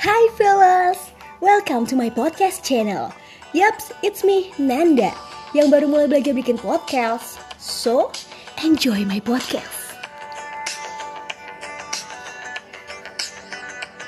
Hi fellas, welcome to my podcast channel. Yups, it's me, Nanda, yang baru mulai belajar bikin podcast. So, enjoy my podcast.